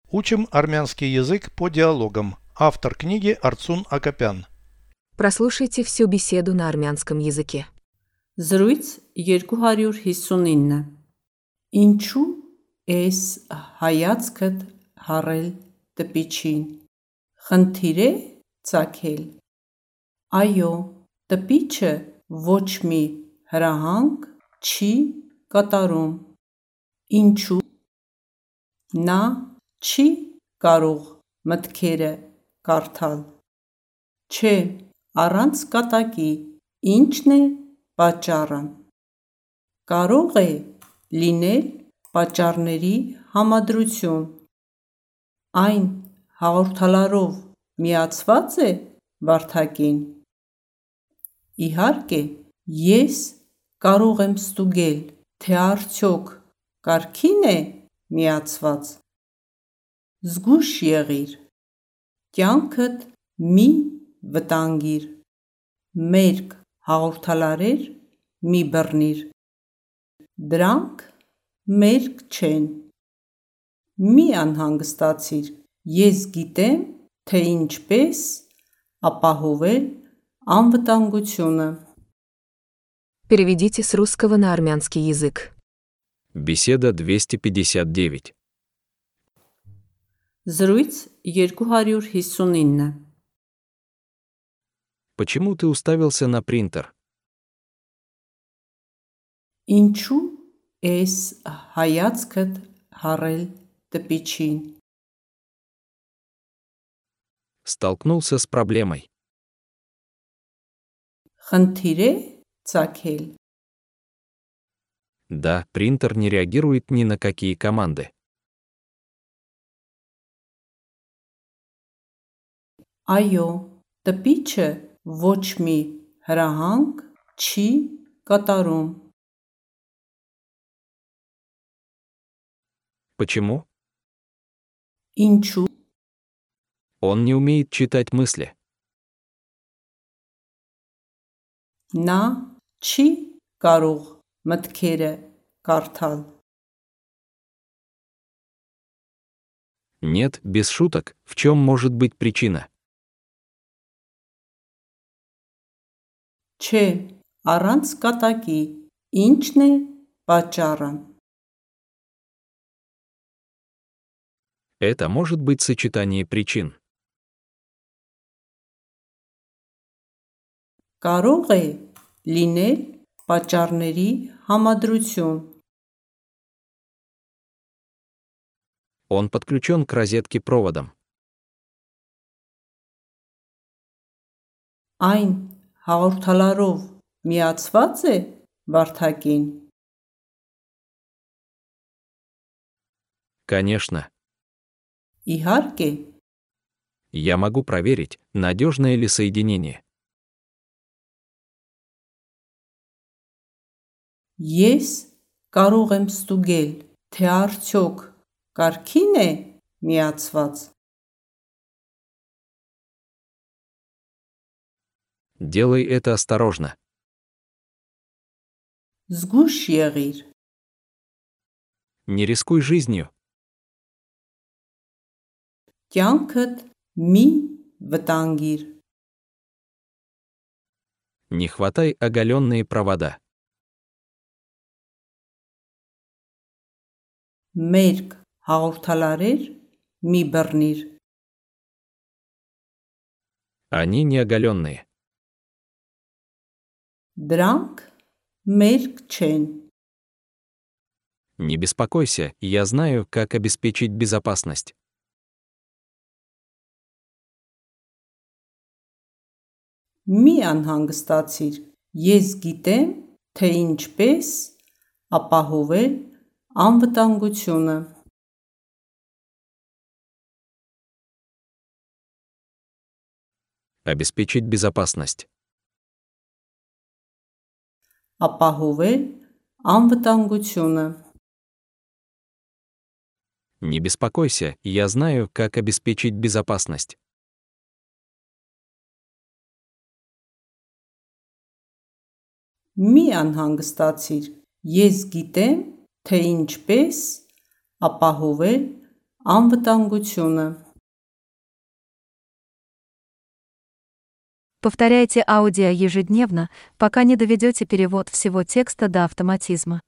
Учим армянский язык по диалогам. Автор книги Арцун Акопян. Прослушайте всю беседу на армянском языке. Զրույց 259 Ինչու ես հայացքդ հառել տպիչին, խնդիր է ծագել, այո, տպիչը ոչ մի հրահանգ չի կատարում, ինչու, նա չի կարող մտքերը կարդալ, չէ, առանց կատակի, ինչն է պատճառը, կարող է լինել պատճառների համադրություն, այն հաղորդալարով միացված է վարդակին, իհարկե, ես կարող եմ ստուգել, թե արդյոք կարգին է միացված, զգույշ եղիր, կյանքդ մի վտանգիր, մերկ հաղորդալարեր մի բռնիր, դրանք մերկ չեն, մի անհանգստացիր, ես գիտեմ, թե ինչպես ապահովել անվտանգությունը. Переведите с русского на армянский язык. Беседа 259. Զրույց 259 Почему ты уставился на принтер? Ինչու ես հայացքդ հառել տպիչին, Столкнулся с проблемой. խնդիր է ծագել, Да, принтер не реагирует ни на какие команды. այո, տպիչը ոչ մի հրահանգ չի կատարում, Почему? ինչու, Он не умеет читать мысли. նա չի կարող մտքերը կարդալ, Нет, без шуток, в чем может быть причина? չէ, առանց կատակի, ինչն է պատճառը, Это может быть сочетание причин. կարող է լինել պատճառների համադրություն, Он подключен к розетке проводом. այն հաղորդալարով միացված է վարդակին, Конечно, իհարկե, я могу проверить, надежное ли соединение. ես կարող եմ ստուգել, թե արդյոք կարգին է միացված, Делай это осторожно. զգույշ եղիր, Не рискуй жизнью. կյանքդ մի վտանգիր, Не хватай оголенные провода. մերկ հաղորդալարեր մի բռնիր, Они не оголенные. դրանք մերկ չեն, Не беспокойся, я знаю, как обеспечить безопасность. մի անհանգստացիր, ես գիտեմ, թե ինչպես ապահովել անվտանգությունը, Обеспечить безопасность. ապահովել անվտանգությունը, Не беспокойся, я знаю, как обеспечить безопасность. մի անհանգստացիր, ես գիտեմ, թե ինչպես ապահովել Անվտանգությունը. Повторяйте аудио ежедневно, пока не доведете перевод всего текста до автоматизма.